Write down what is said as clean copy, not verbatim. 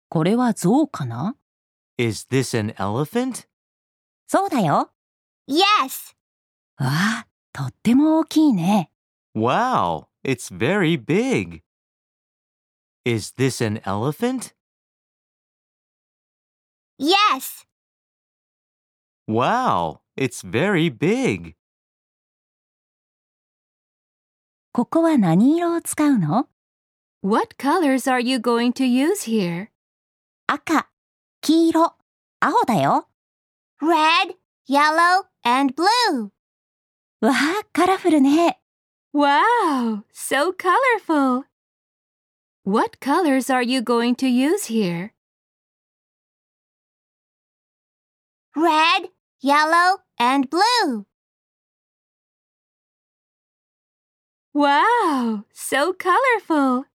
これは象かな？ Is this an elephant? そうだよ。 Yes. わあ、とっても大きいね。 Wow, it's very big. Is this an elephant? Yes. Wow, it's very big. ここは何色を使うの？ What colors are you going to use here? 赤、黄色、青だよ。 Red, yellow, and blue. わあ、カラフルね。 Wow, so colorful. What colors are you going to use here? Red, yellow, and blue. Wow, so colorful.